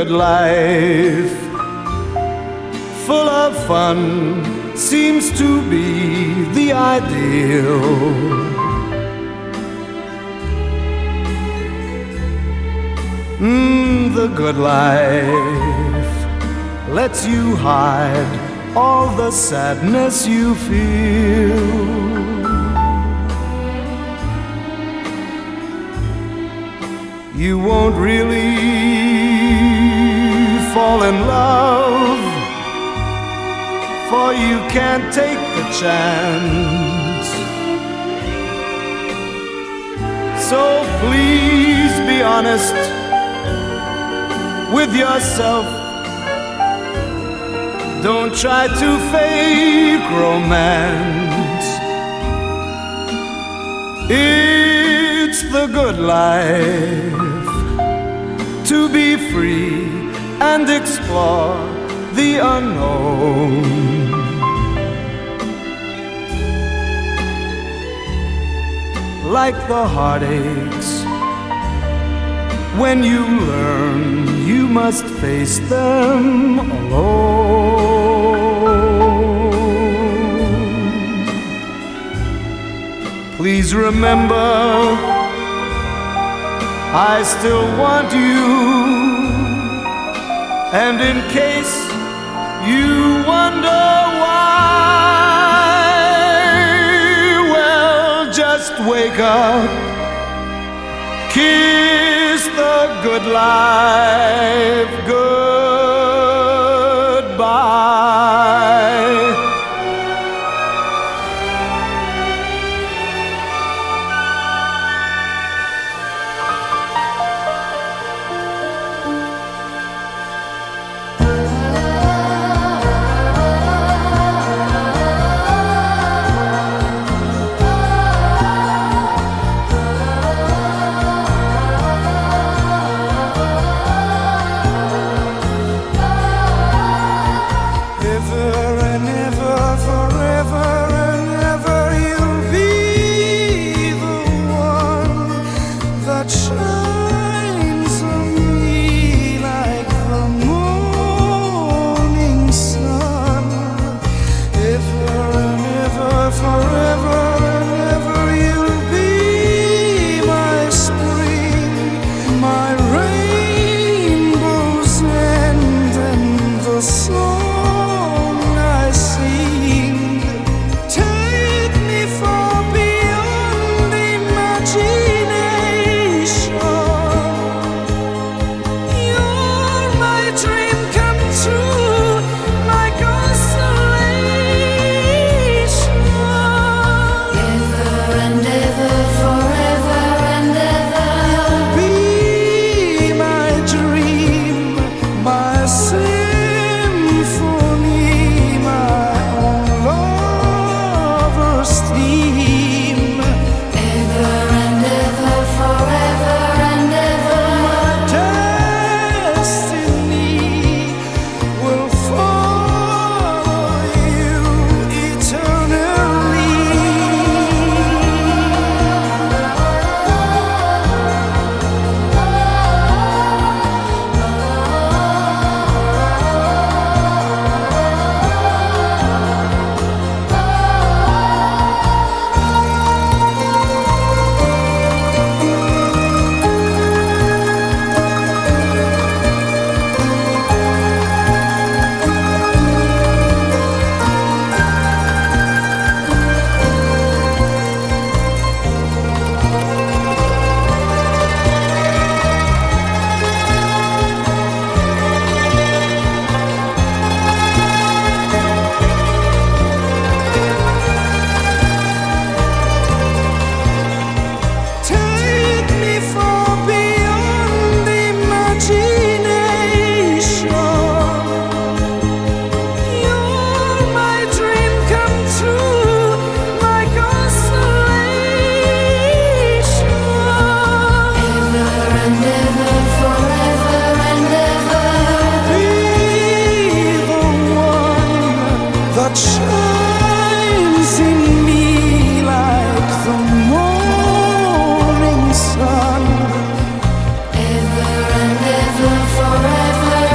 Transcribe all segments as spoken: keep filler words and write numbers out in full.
good life, full of fun, seems to be the ideal. Mm, the good life lets you hide all the sadness you feel. You won't really fall in love, for you can't take the chance. So please be honest with yourself. Don't try to fake romance. It's the good life to be free and explore the unknown. Like the heartaches, when you learn you must face them alone. Please remember, I still want you, and in case you wonder why, well, just wake up, kiss the good life goodbye. Ever and ever, forever.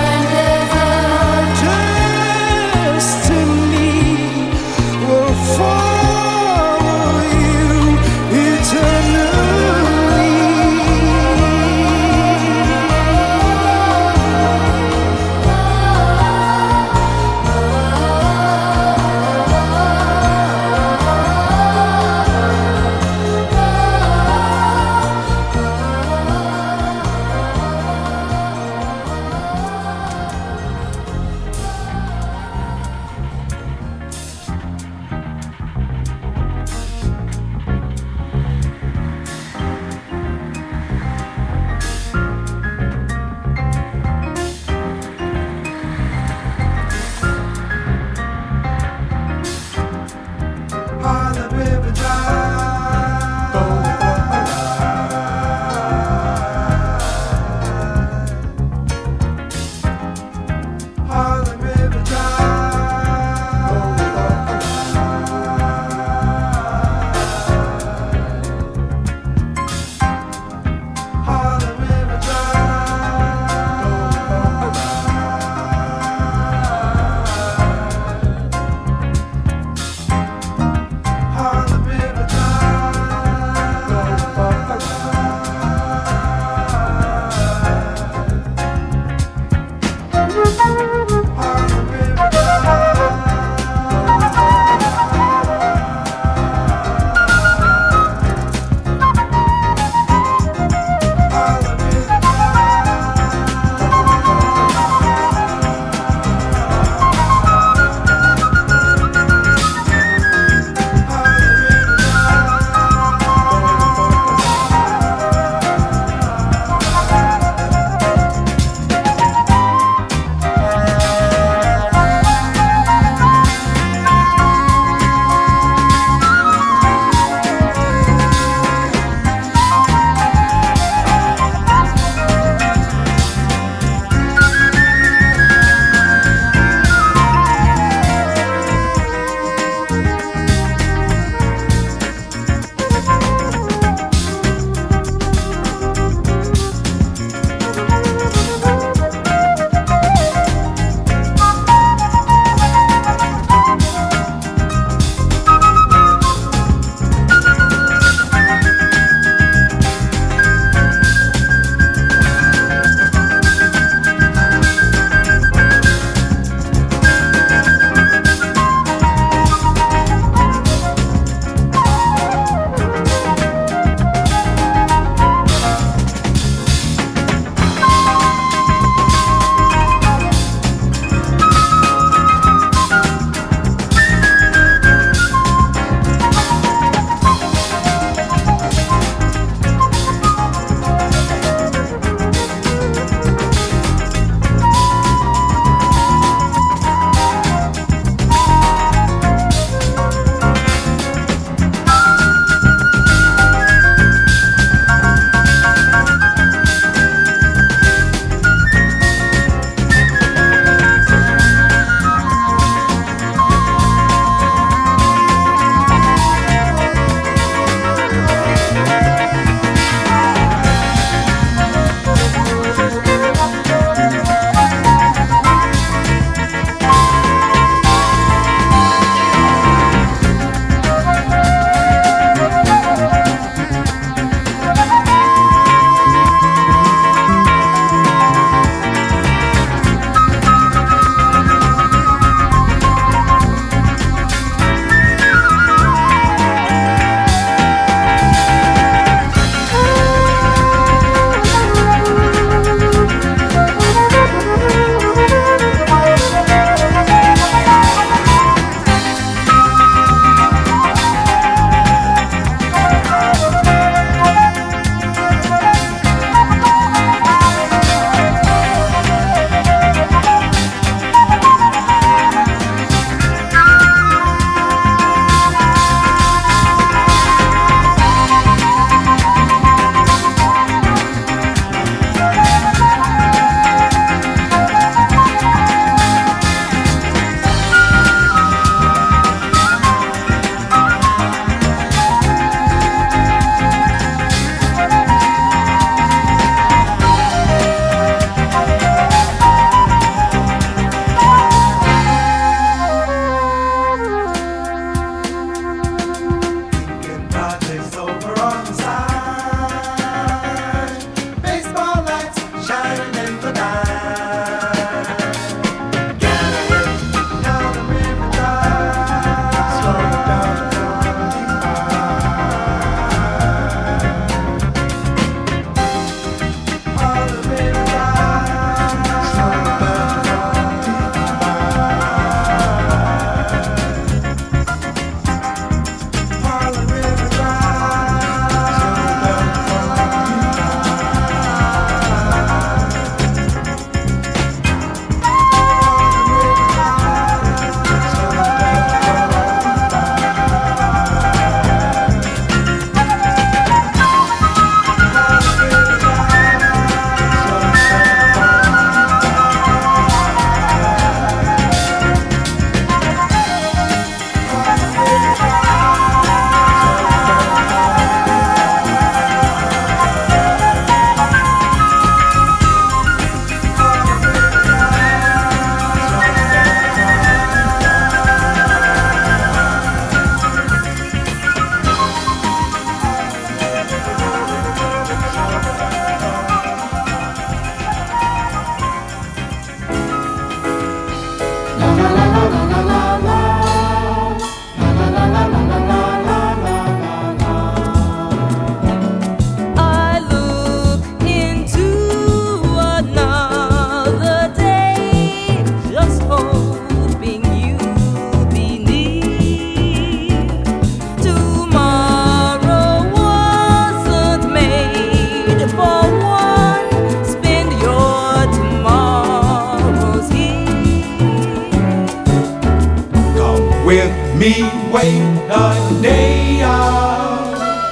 with me, wait the day up.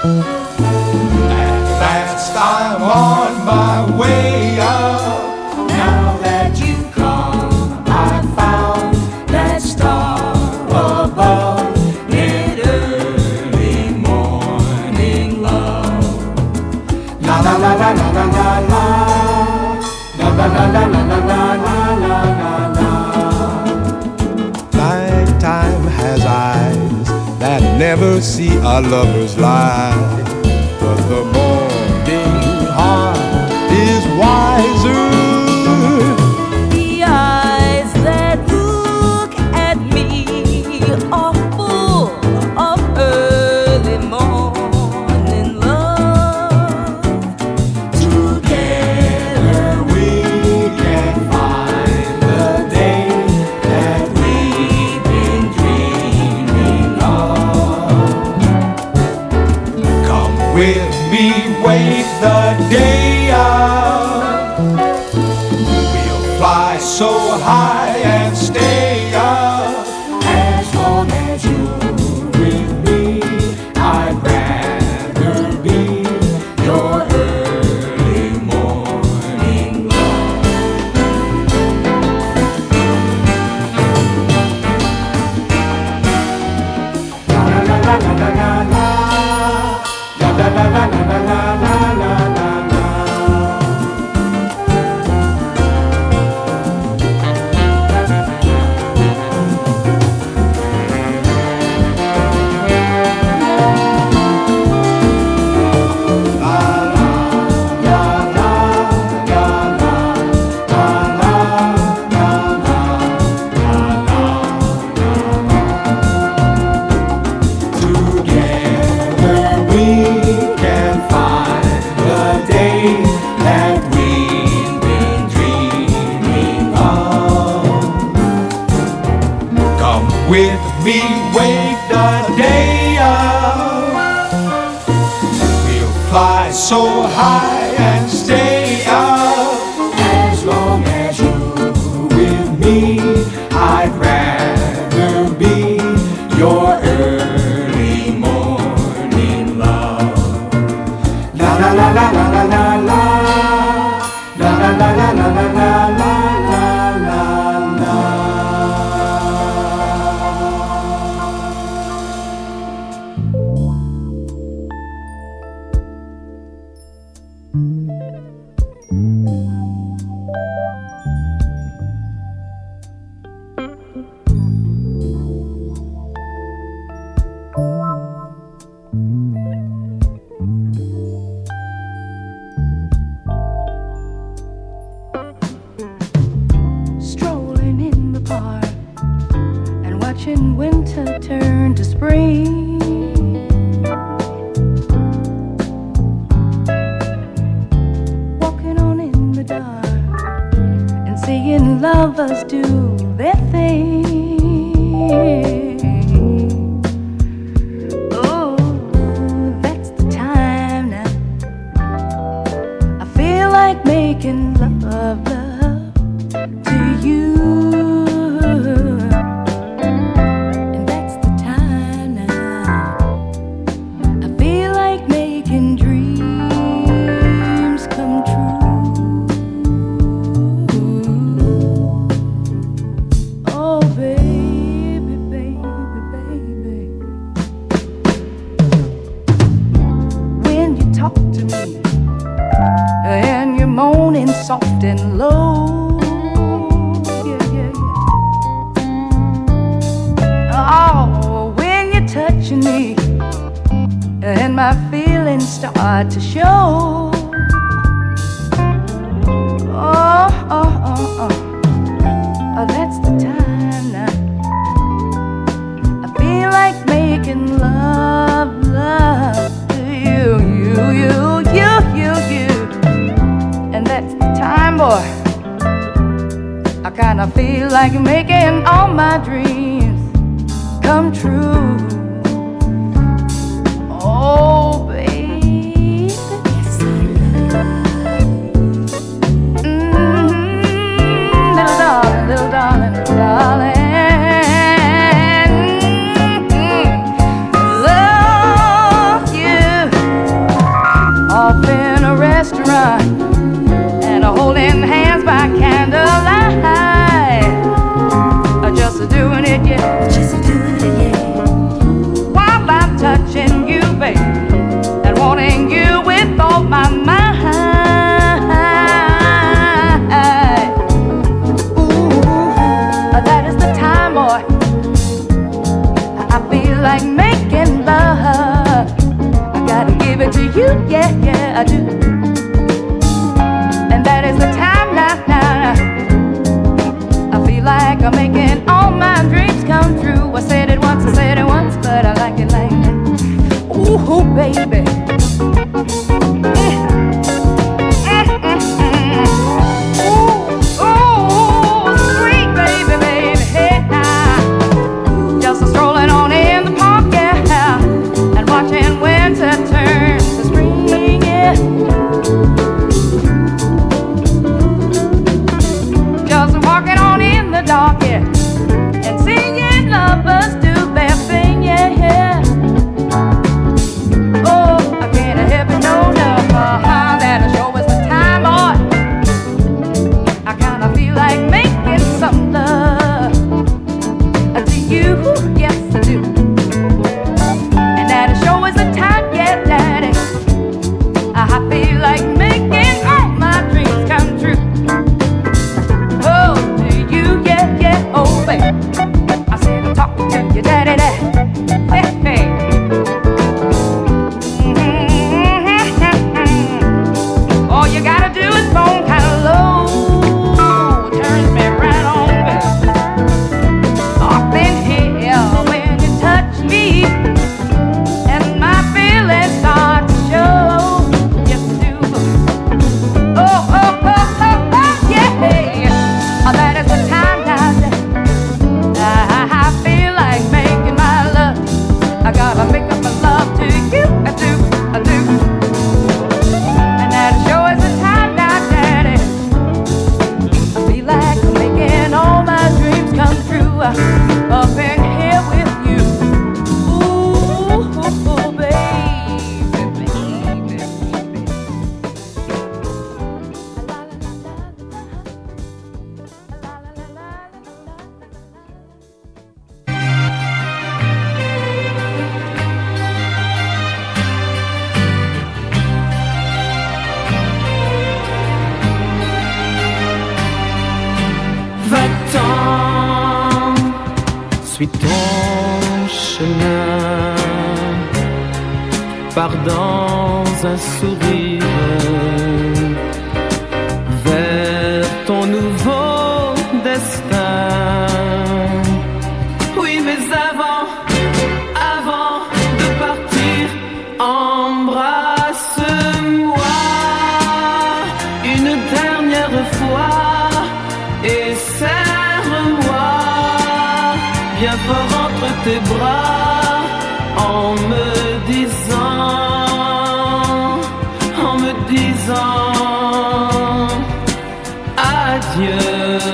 At last I'm on my way up. Now that you come, I found that star above in early morning love. La la la la la la la la. La la la la la la la la la la. Lifetime has eyes that never see a lover's lie, but the morning heart is wiser. The eyes that look at me are full of early morning love. Together we can find the day that we've been dreaming of. Come with me, wake the day up. We'll fly so high and stay up. As long as you're with me, I'd rather be your early morning love. La la la la la la la. La la la la la la la la la la. Together we can find the day that we've been dreaming of. Come with me, wake the day up. We'll fly so high and stay up. As long as you're with me, I'd rather be your early morning love. La la la la la la la la. La la la la la la la la la la la. Strolling in the park and watching winter turn to spring. Walking on in the dark and seeing lovers do their thing. Oh, that's the time now. I feel like making love, love to you. And that's the time now. I feel like making dreams come true. Oh, baby, baby, baby. When you talk to me and you're moaning soft and low, yeah, yeah, yeah. Oh, when you're touching me and my feelings start to show. Oh, oh, oh, oh, oh, that's the time now. I feel like making love, love to you, you, you, you, you, you. And that's the time, boy. I kinda feel like making all my dreams come true. Oh, baby, yes, I love. Mm-hmm. Little darling, little darling, little darling. I feel like making love. I gotta give it to you, yeah, yeah, I do. And that is the time now, now. I feel like I'm making all my dreams come true. I said it once, I said it once, but I like it like that. Ooh, baby. Dark, yeah, and singing lovers do their thing, yeah, yeah. Oh, I can't help it, no, no, uh-huh, that sure was the time, boy. I kinda feel like making some love to you, yes I do. And that sure was the time, yeah, daddy. I feel like making all my dreams come true. Oh, baby, I said I'm talking to your daddy, daddy. Hey, hey. Mm-hmm. All you gotta do is phone kind of low. Turns me right on, baby. Up in here when you touch me, and my feelings start to show. Yes, I do. Oh, oh, oh, oh, oh, yeah. Oh, that is the time now. I feel like making my love. I gotta make up my love to you. I do, I do. And that sure is the time now, daddy. I feel like I'm making all my dreams come true. Up in here with you. Ooh, baby, baby, baby. Va-t'en, suis ton chemin, pars dans un sourire vers ton nouveau destin. Oui, mais avant, avant de partir, embrasse-moi une dernière fois. Et serre-moi bien fort entre tes bras en me disant, en me disant adieu.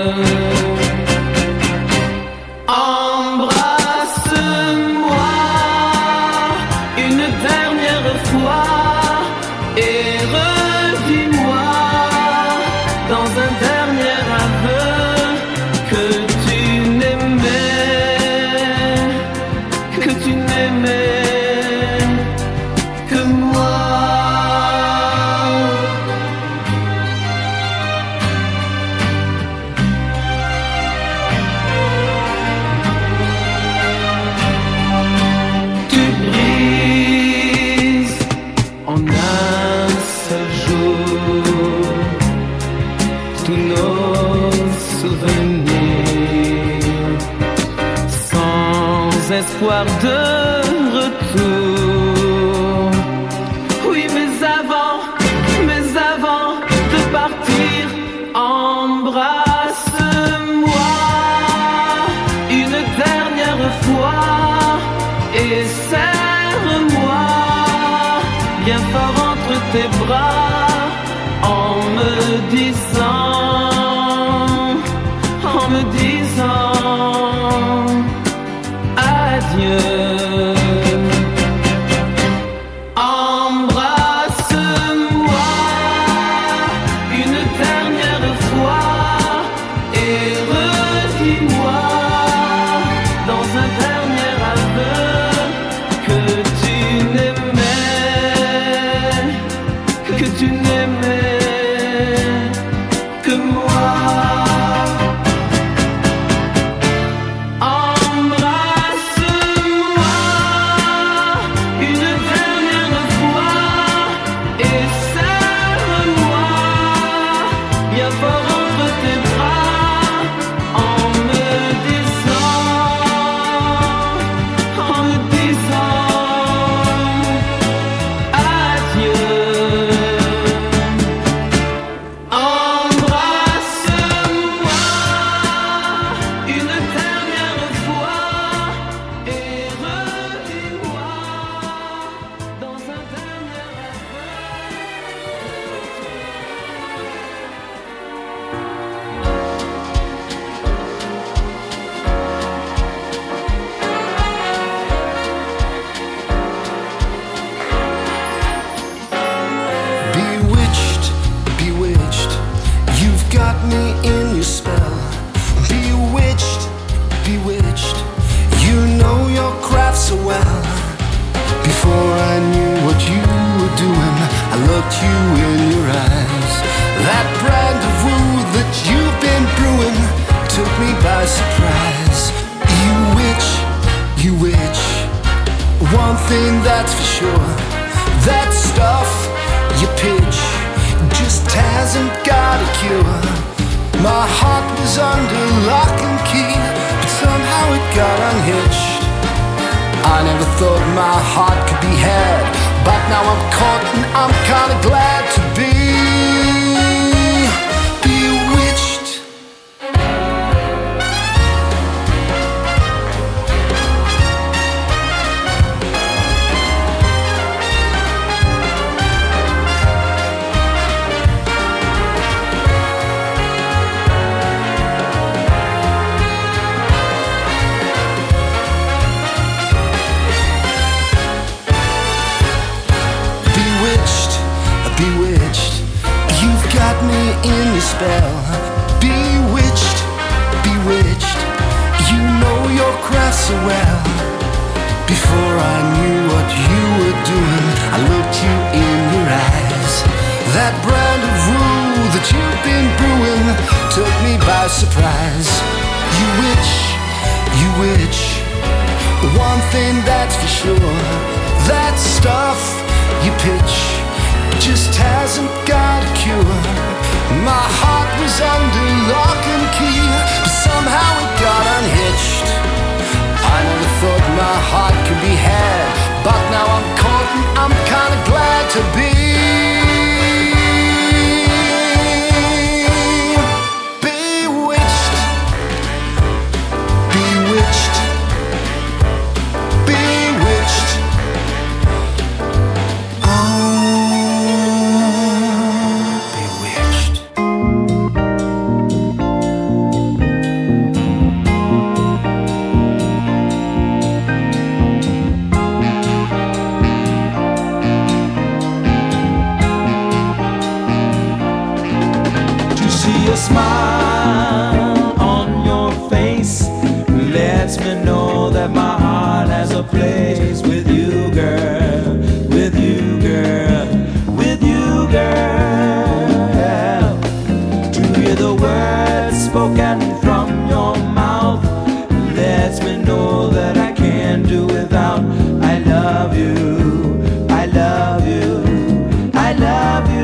Embrasse-moi une dernière fois et redis-moi dans un dernier aveu que tu n'aimais, que tu n'aimais que moi. Tu brises en un seul jour tous nos souvenirs sans espoir de retour. Oui, mais avant, mais avant de partir, embrasse-moi une dernière fois et serre-moi bien fort entre tes bras en me disant, en me disant adieu. Embrasse-moi une dernière fois et redis-moi dans un dernier aveu que tu n'aimais, que tu n'aimais que moi. Embrasse-moi thing that's for sure, that stuff you pitch just hasn't got a cure. My heart was under lock and key, but somehow it got unhitched. I never thought my heart could be had, but now I'm caught and I'm kinda glad to be bewitched. Bewitched, you've got me in your spell. Bewitched, bewitched, you know your craft so well. Before I knew what you were doing, I looked you in your eyes. That brand of rule that you've been brewing took me by surprise. You witch, you witch, one thing that's for sure, that stuff you pitch just hasn't got a cure. My heart was under lock and key, but somehow it got unhitched. I never thought my heart could be had, but now I'm caught and I'm kinda glad to be bewitched, bewitched, bewitched. Smile on your face lets me know that my heart has a place with you, girl, with you, girl, with you, girl. To hear the words spoken from your mouth lets me know that I can't do without. I love you, I love you, I love you.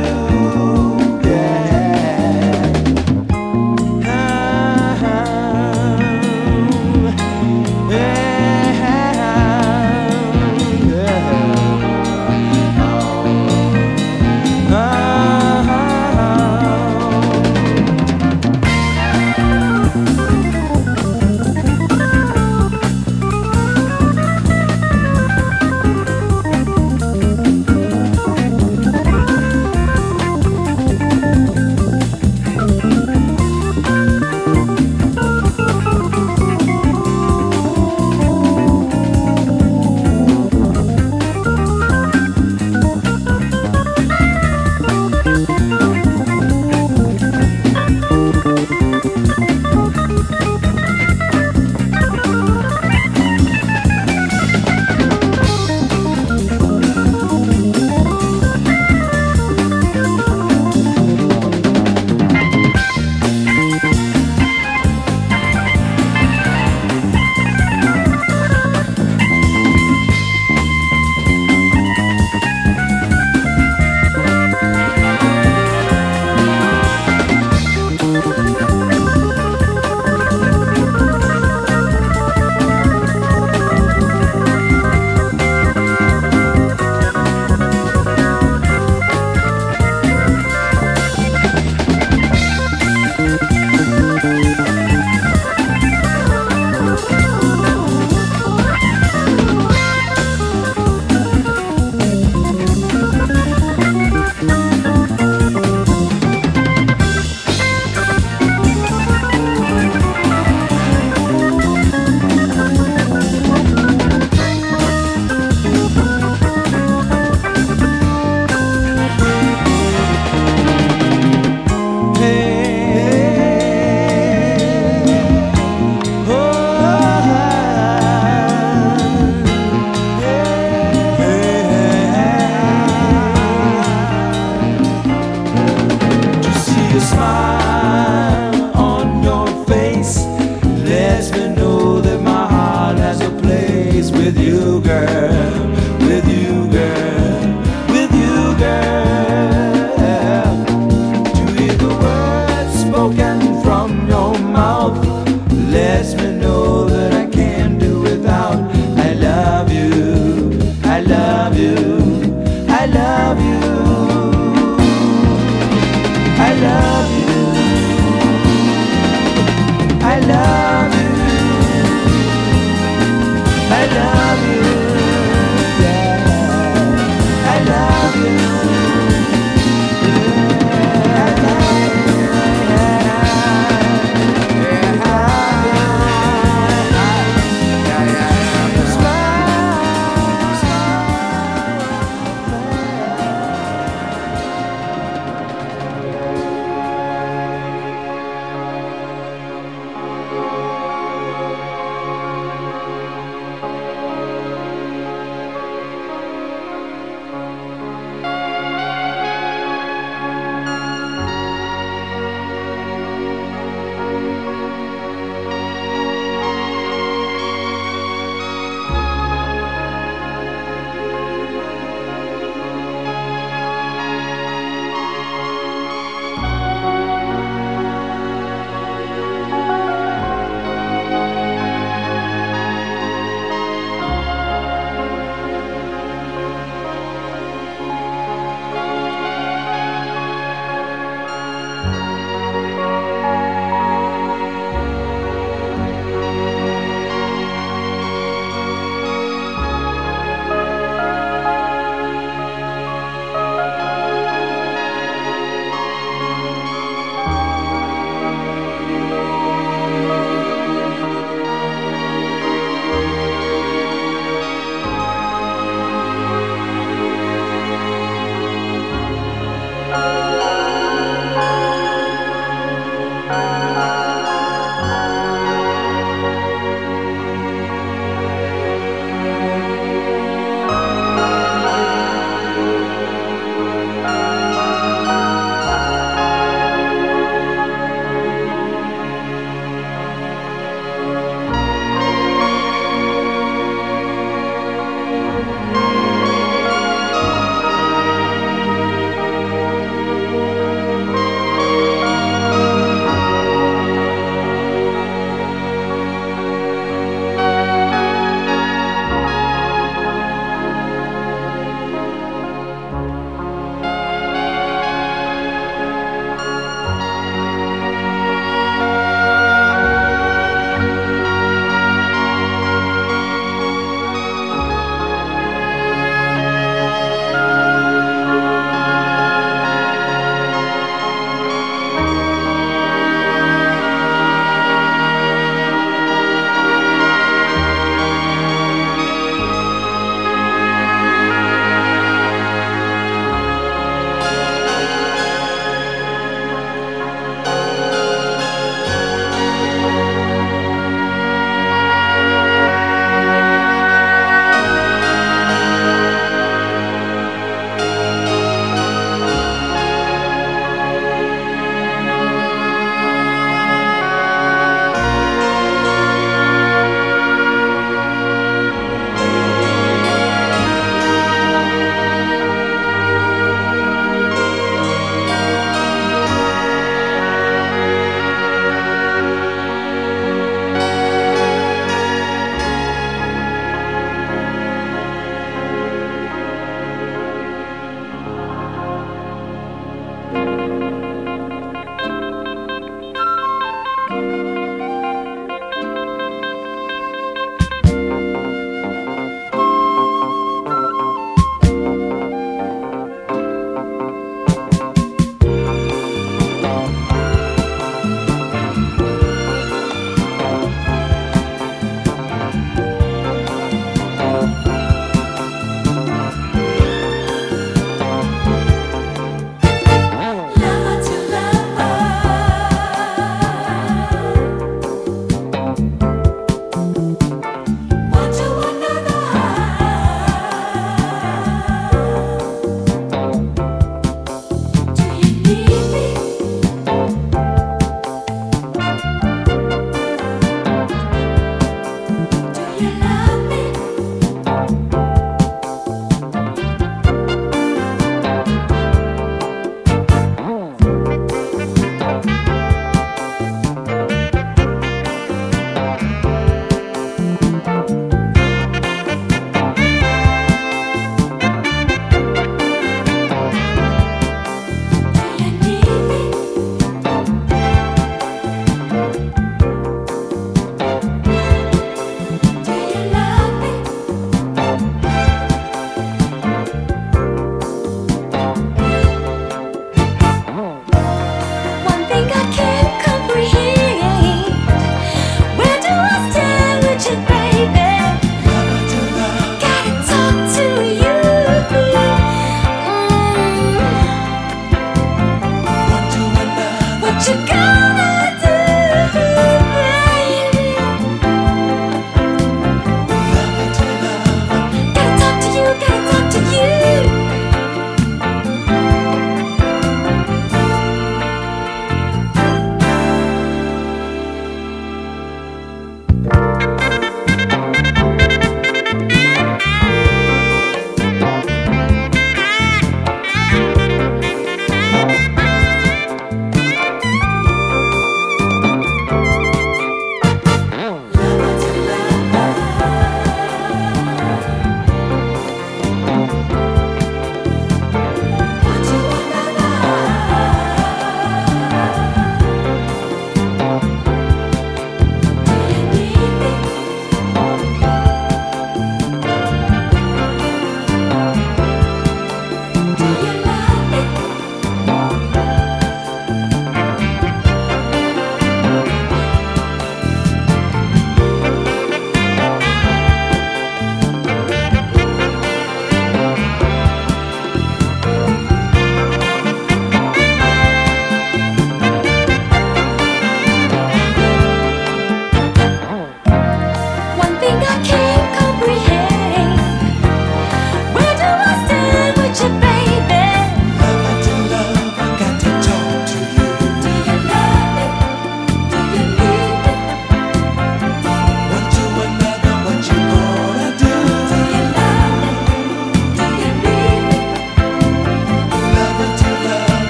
with you, girl.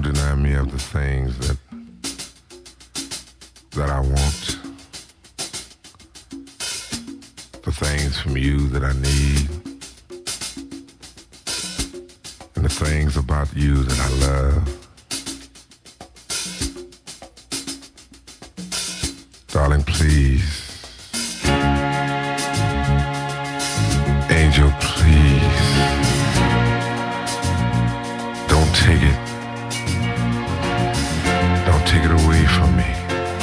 don't deny me of the things that that I want, the things from you that I need, and the things about you that I love. Darling, please. Angel, please. Don't take it. Don't take it away from me.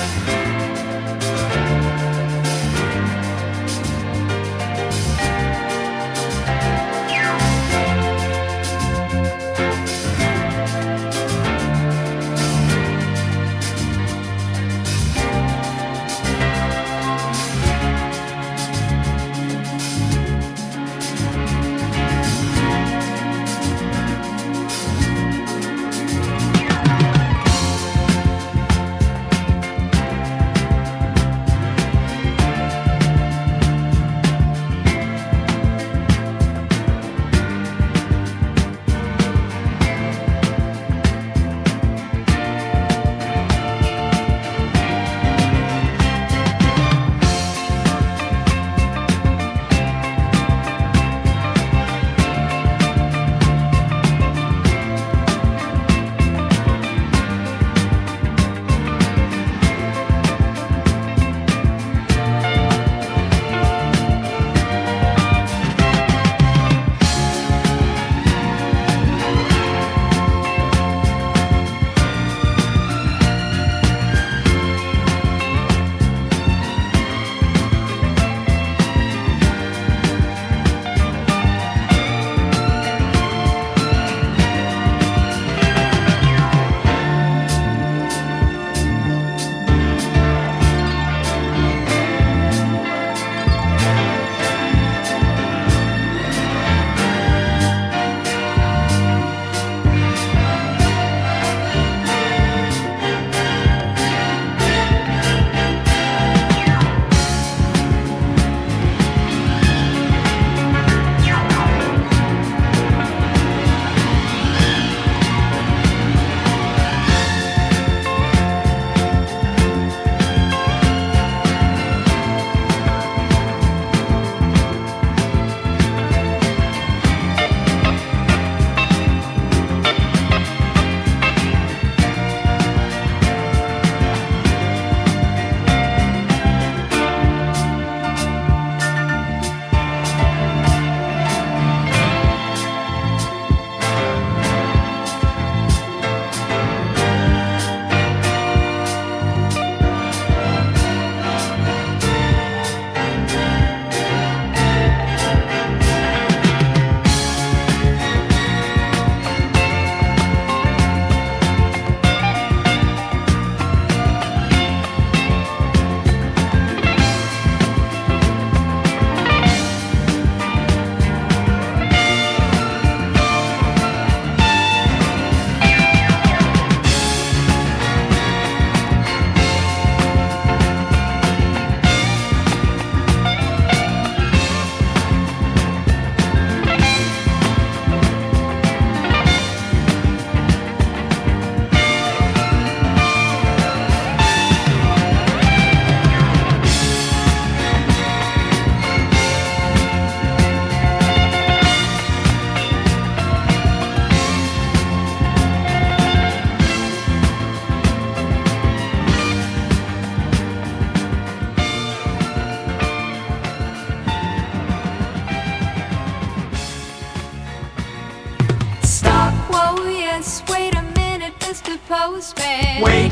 Postman. Wait,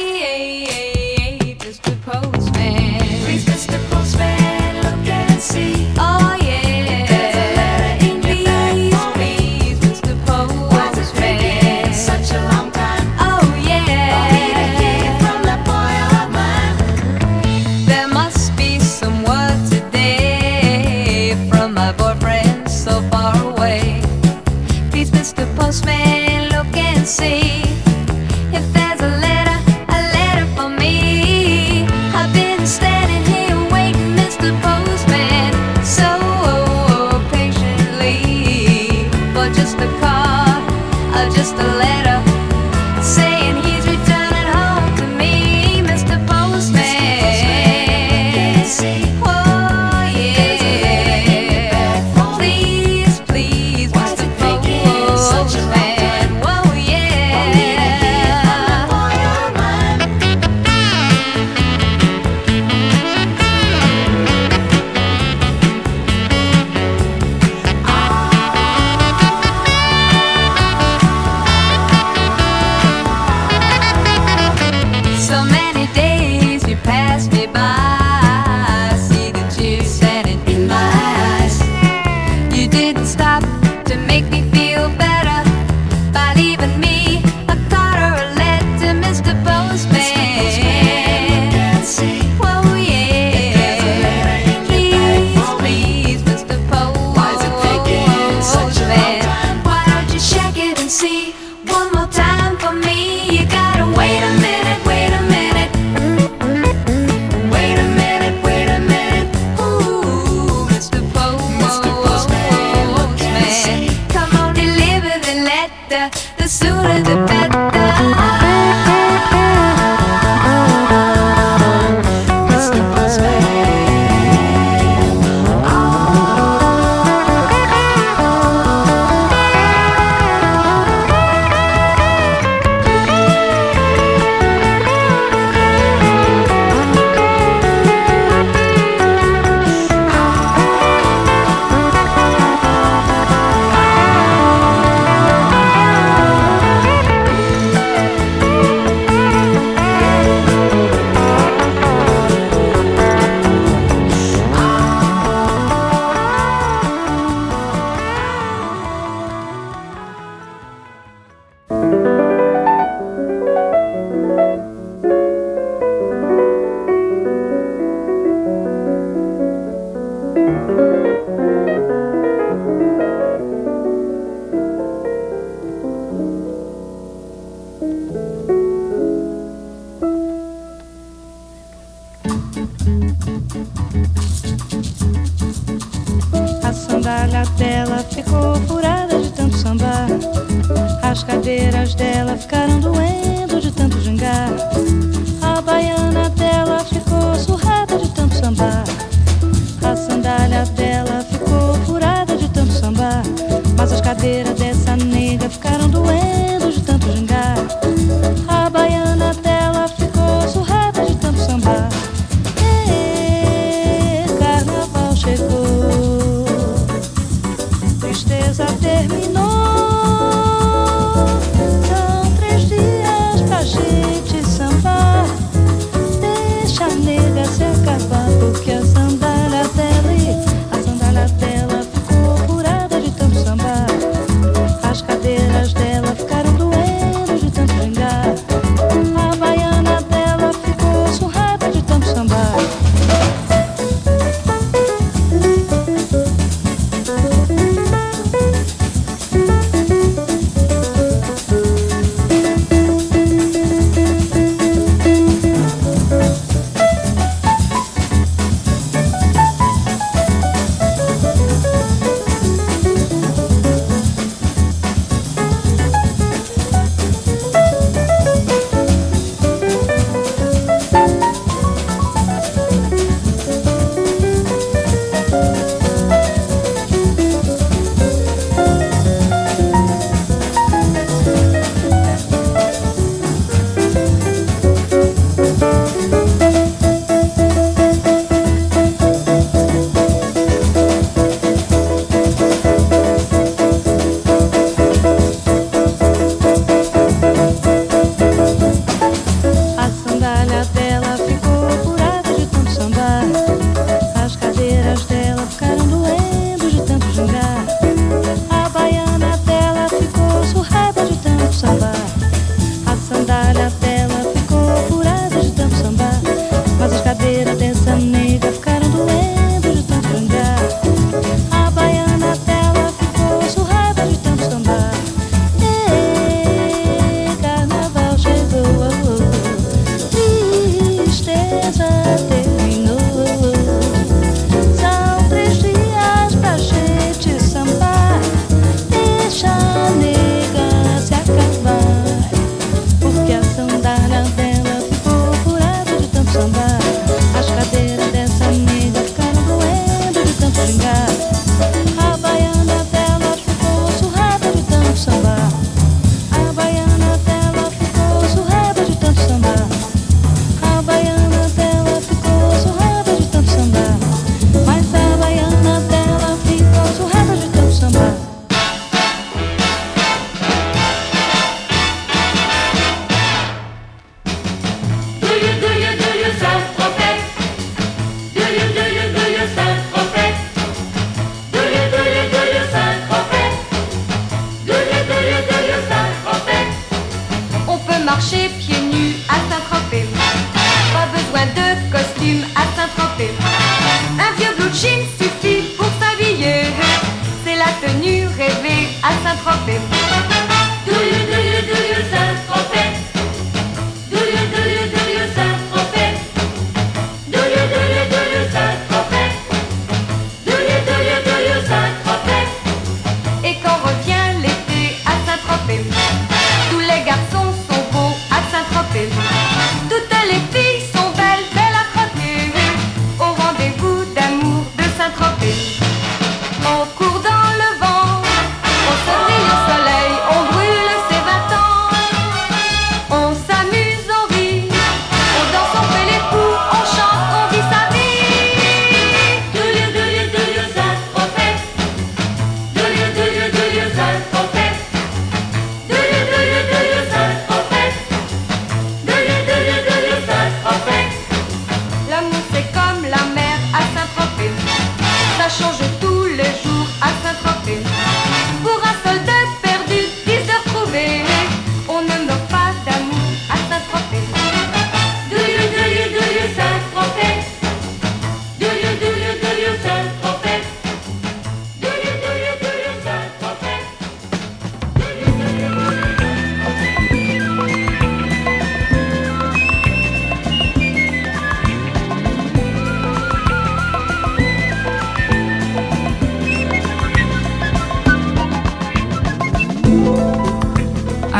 wait, Mister Postman. Please, Mister Postman, look and see. Oh yeah, there's a letter in your bag for me. Please, Mister Postman. Why's it taking such a long time? Oh yeah, for me to hear from that boy of mine. There must be some word today from my boyfriend so far away. Please, Mister Postman, look and see. Just a letter sandália dela ficou furada de tanto sambar. As cadeiras dela ficaram doendo de tanto gingar. A baiana dela ficou surrada de tanto sambar. A sandália dela ficou furada de tanto sambar. Mas as cadeiras dessa nega ficaram doendo de tanto gingar. A baiana dela ficou surrada de tanto sambar. E carnaval chegou, tristeza terminou. São três dias pra gente sambar.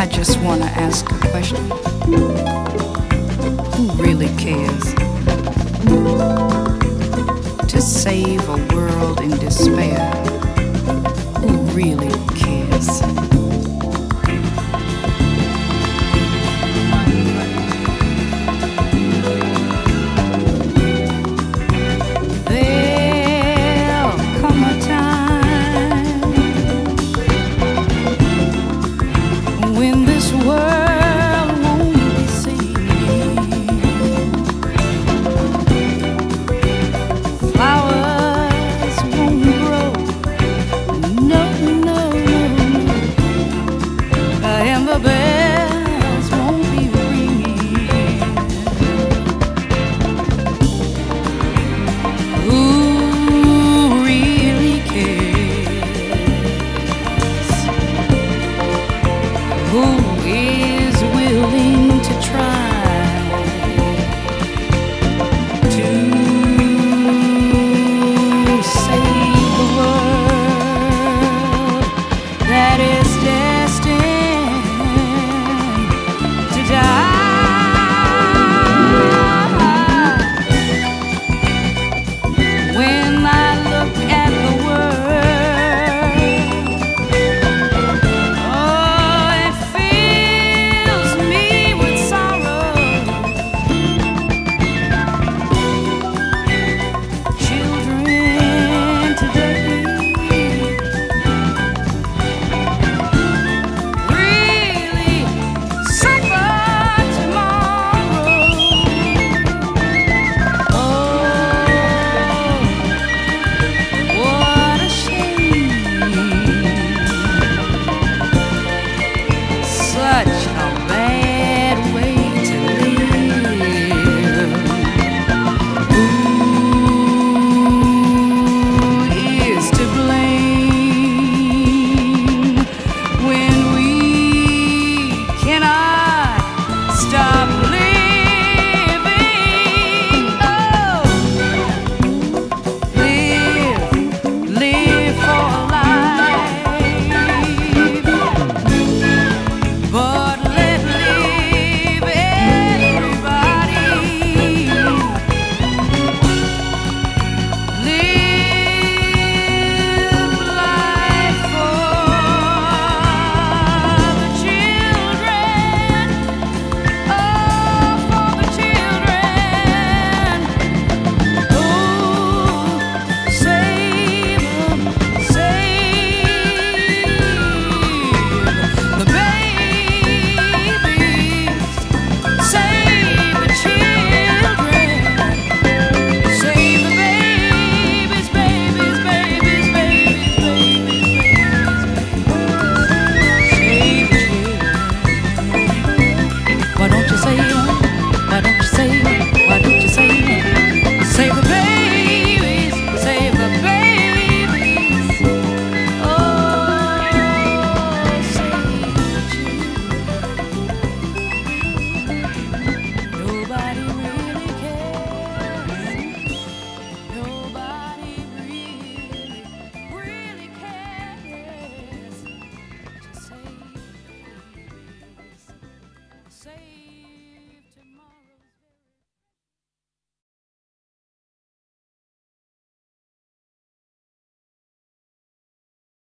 just want to ask a question. Who really cares? To save a world in despair, who really cares?